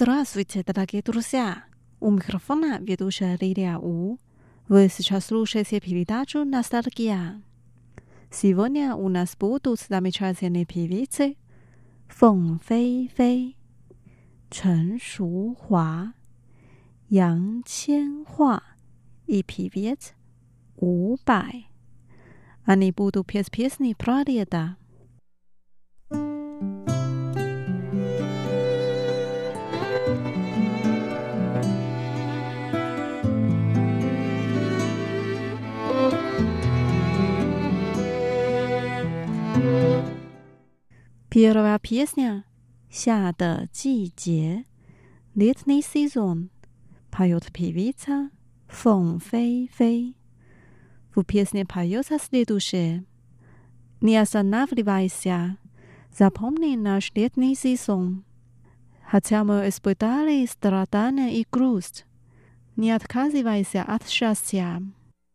Здравствуйте, дорогие друзья! У микрофона ведущая Лилия У. Вы сейчас слушаете передачу «Ностальгия». Сегодня у нас будут замечательные певицы Фэн Фэйфэй, Чэн Шухуа, Ян Qianhua и певец У Бай. Они будут петь песни про лето. Первая песня «夏的季节» Летний сезон поет певица Фэн Фэйфэй. В песне поется следующее: Не останавливайся, запомни наш летний сезон. Хотя мы испытали страдания и грусть, не отказывайся от счастья.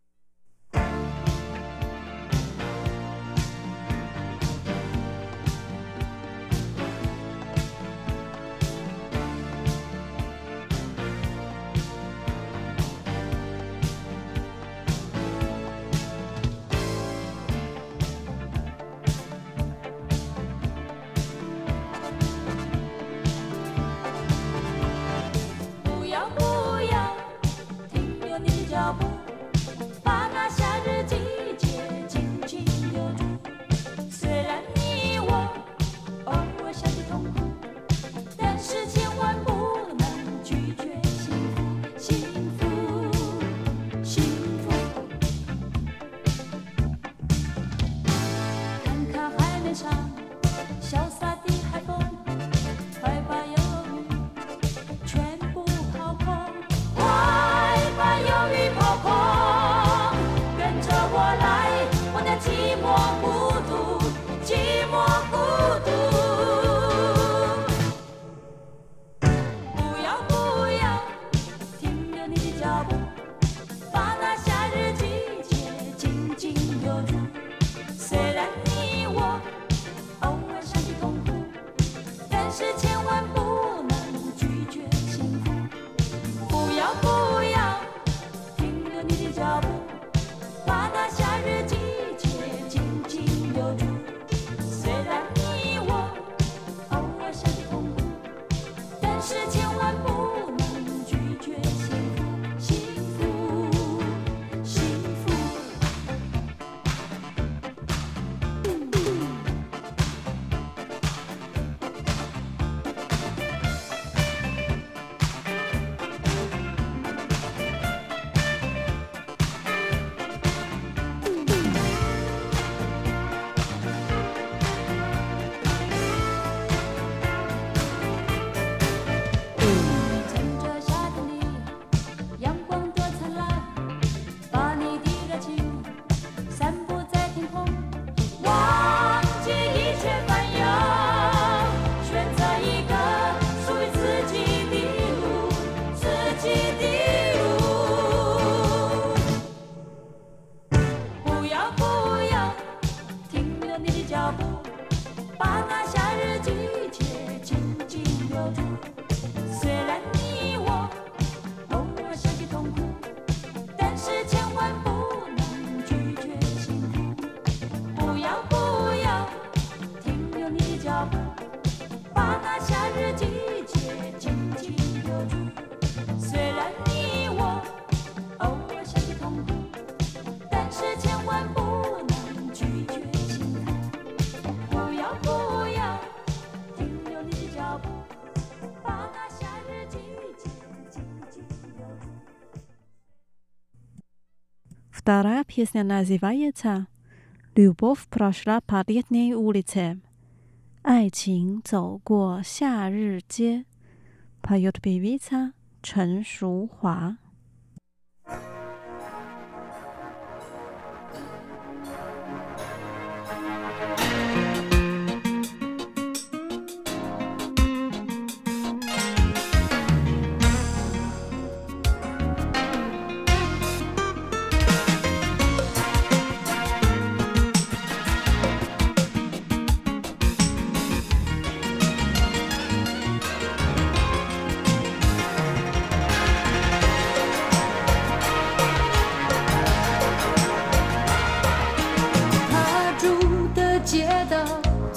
Вторая песня называется «Любовь прошла по летней улице». 爱情走过夏日街 поет певица Чэн Шухуа.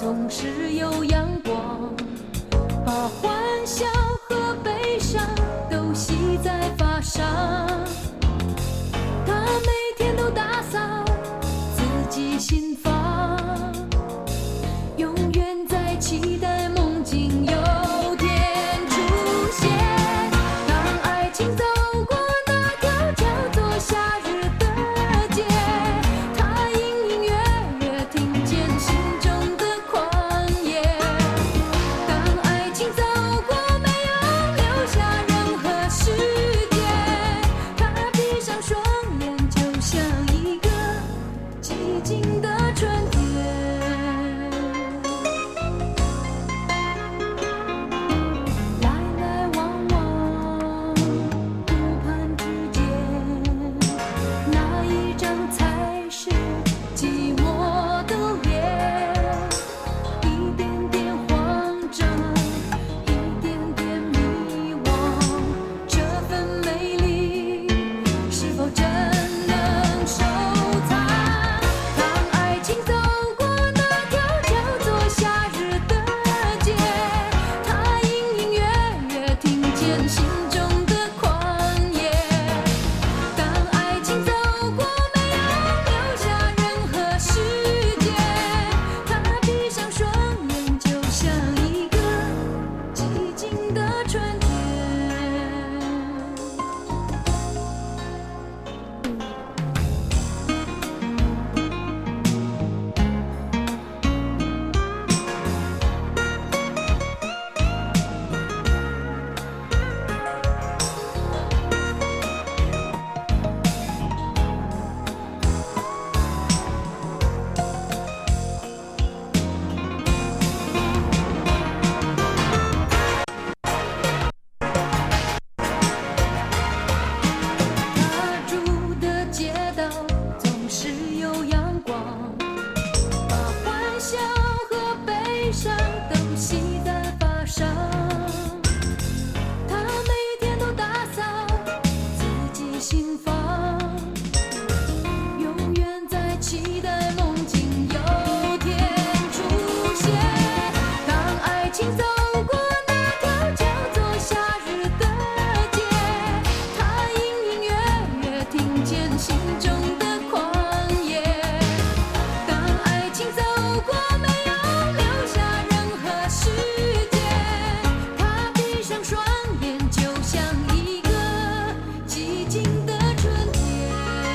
总是有阳光，把欢笑和悲伤都系在发上。他每天都打扫自己心房，永远在期待梦境有天出现。当爱情走过那条叫做夏日的街，他隐隐约约听见心中的狂野。当爱情走过没有留下任何时间，他闭上双眼就像一个寂静的春天。来来往往顾盼之间，哪一张才是寂寞的脸？一点点慌张，一点点迷惘，这份美丽是否真能收藏？当爱情走过那条叫做夏日的街，他隐隐约约听见心中的狂野。当爱情走过没有留下任何时间，他闭上双眼就像一个寂静的春天。他住的街道总是有阳光，把欢笑和悲伤都系在发上。他每天都打扫自己心房，永远在期待梦境有天出现。当爱情走过那条叫做夏日的街，他隐隐约约听见心中的狂野。当爱情走过没有留下任何时间，他闭上双眼就像一个寂静的春天。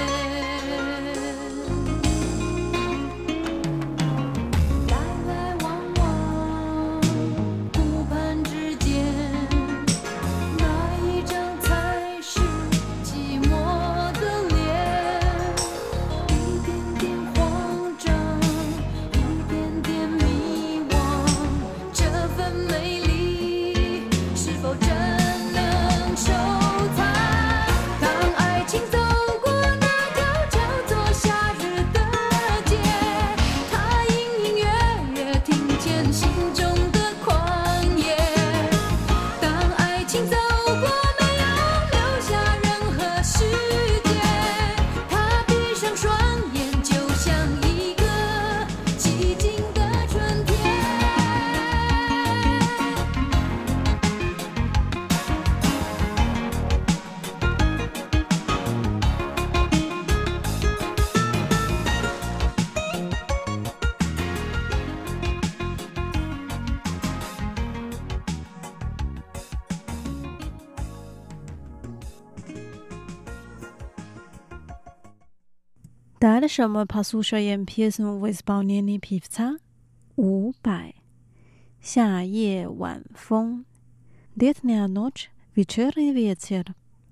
来来往往顾盼之间，哪一张才是寂寞的脸？一点点慌张，一点点迷惘，这份美丽是否真能收藏？当爱情走过那条叫做夏日的街，他隐隐约约听见心中的狂野。当爱情走过没有留下任何时间，他闭上双眼就像一个寂静的春天。 Дальше мы послушаем песню в исполнении певца 伍佰. 夏夜晚风 Летняя ночь, вечерний ветер.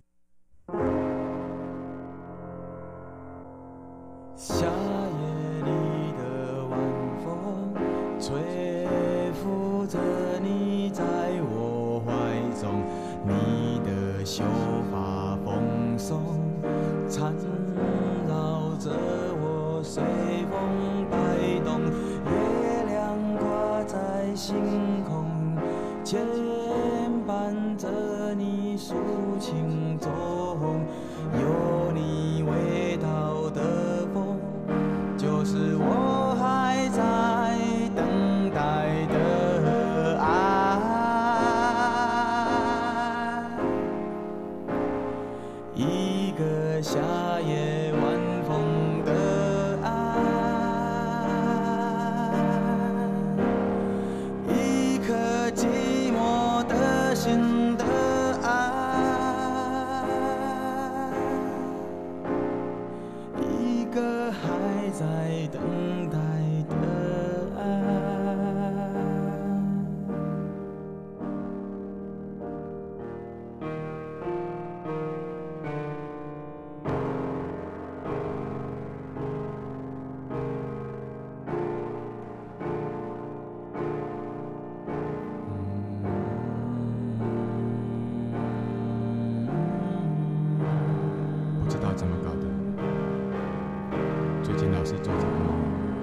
夏夜里的晚风，吹拂着你在我怀中，你的秀发蓬松，缠绕着我随风摆动。月亮挂在星空，牵伴着你抒情中，有你味道的风。 等待的爱。不知道怎么搞的，最近老是做这个梦，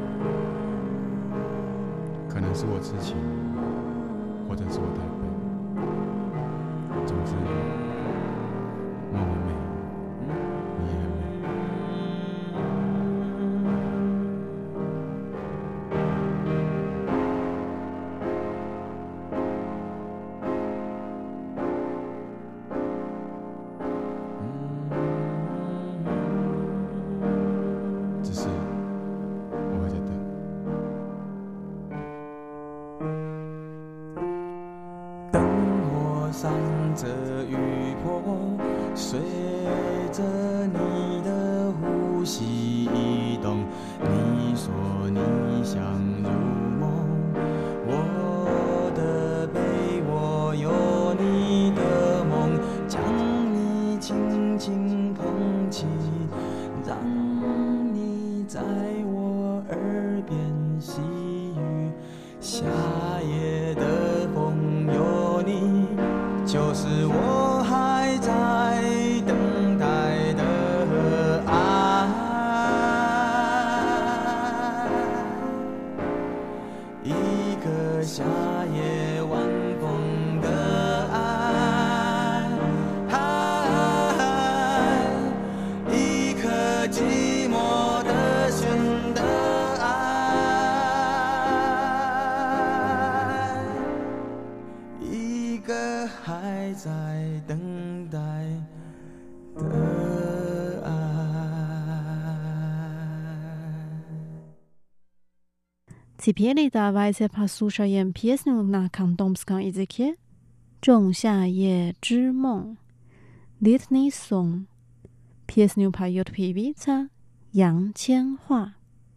可能是我痴情，或者是我太笨。总之，梦很美，你也很美。只是我还在等。灯火闪着雨波，随着你的呼吸移动。你说你想入梦，我的背我有你的梦，将你轻轻捧起，让你在我耳边细语。夏夜的风有你，就是我还在等待的爱。一个夏夜晚风的爱，一颗寂寞的弦的爱，一个还在等待的爱。 Теперь давайте послушаем песню на кантонском языке《仲夏夜之梦》（Летний сон）。Песню поет певица Yang Qianhua。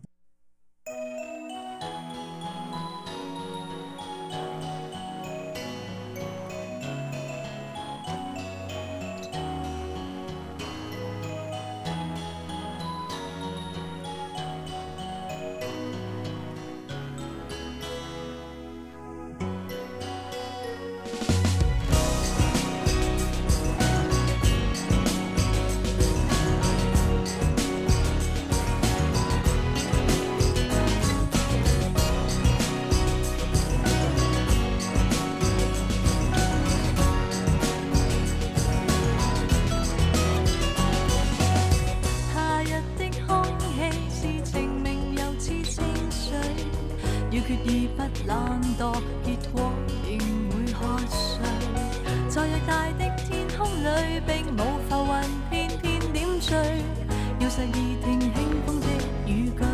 要決意不懶惰，結果仍會喝醉。在偌大的天空裏，並冇浮雲片片點綴，要實意聽輕風的語句。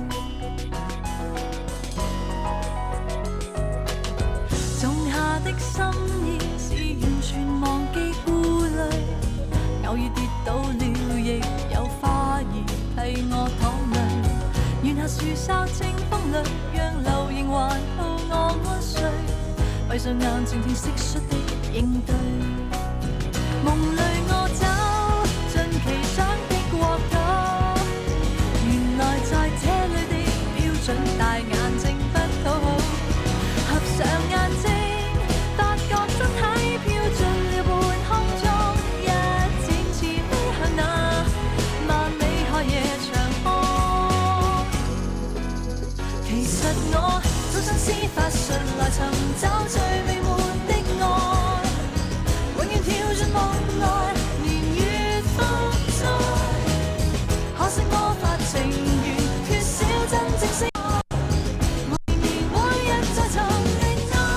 種下的心意是完全忘記顧慮，偶爾跌倒了，亦有花兒替我淌淚。願下樹梢清風裏，讓流螢環抱我安睡。閉上眼靜聽蟋蟀的應對。夢裏我走進奇想的國度，原來在這裏的標準大眼睛不討好。合上眼睛，發覺身體飄進了半空中，一展翅飛向那萬里海夜長空。其實我早想施法術來尋找最美滿的愛，永遠跳進夢內，年月風災。可惜魔法情緣缺少真正性愛，我仍然會一再尋覓愛。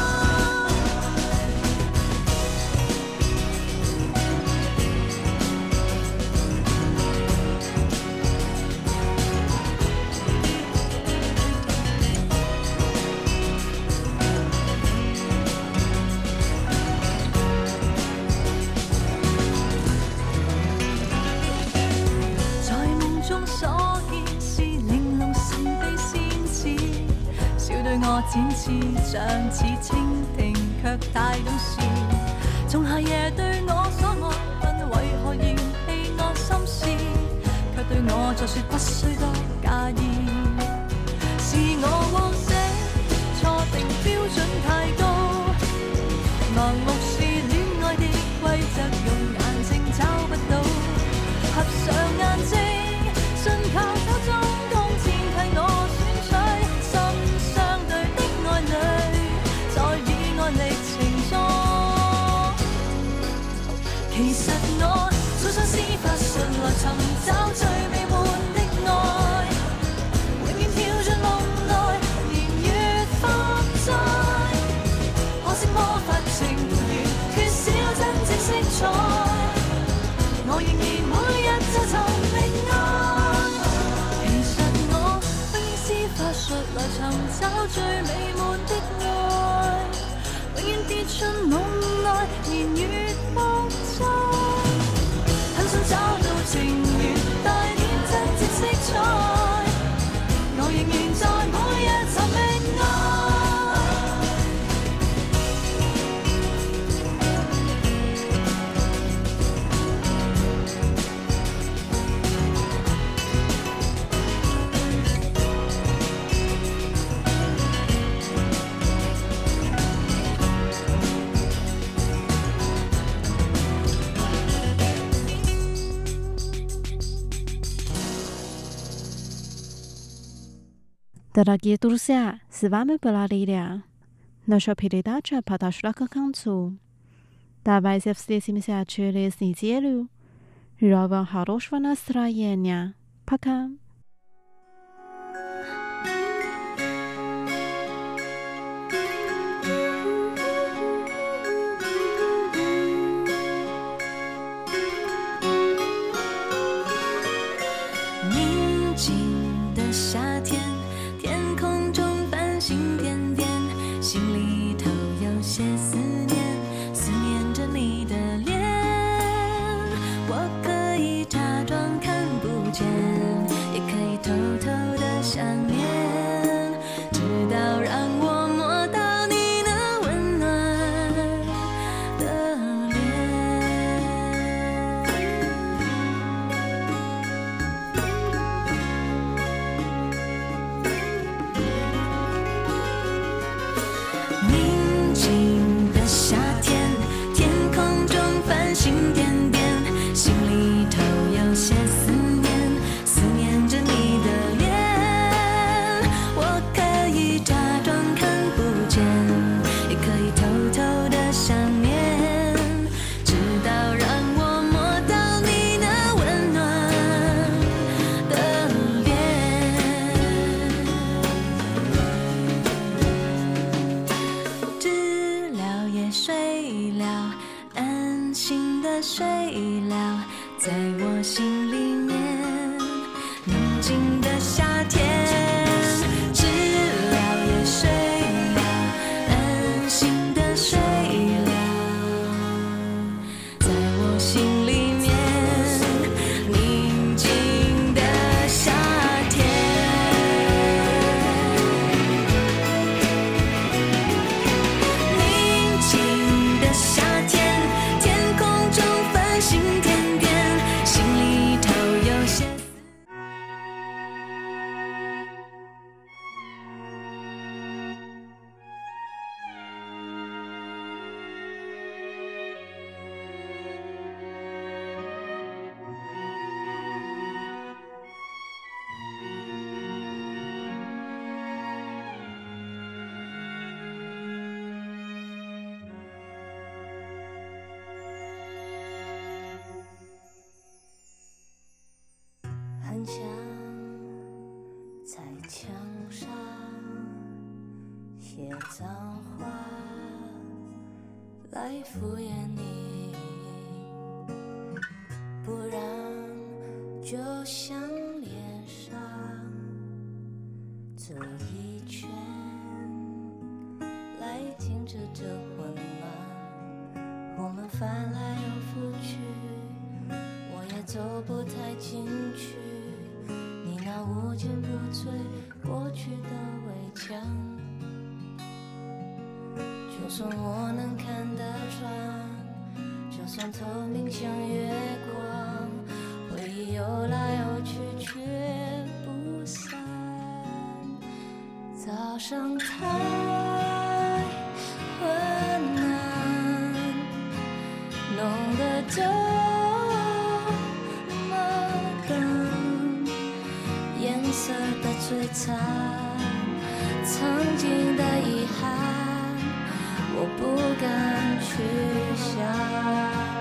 我展翅，像似蜻蜓，卻太懂事。從夏夜對我所愛，問為何嫌棄我心事，卻對我再說不需多介意。是我往昔錯定標準太高，盲目是戀愛的規則，用眼睛找不到。合上眼睛，信靠手中銅錢替我選取，心相對的愛侶，在以愛歷程中。其實我早想施法術來尋找最美滿的愛，永遠跳進夢內，年月放載。可惜魔法情緣缺少真正色彩，我仍然每日就尋覓愛。其實我不應施法術來尋找最美滿的愛，永遠跌進夢內，年月放載。很想找到情緣帶點真正色彩，我仍然在每日尋覓愛。 Дорогие друзья, с вами была Лилия. Наша передача подошла к концу. Давайте встретимся через неделю. Желаю вам хорошего настроения. Пока. 墙在墙上写脏话来敷衍你，不然就像脸上走一圈来停止这混乱，我们翻来又覆去，我也走不太进去，你那无坚不摧过去的围墙。 算我能看得穿，就算透明像月光，回忆游来游去却不散。早上太昏暗，弄得这么冷，颜色的摧残，曾经的遗憾，我不敢去想。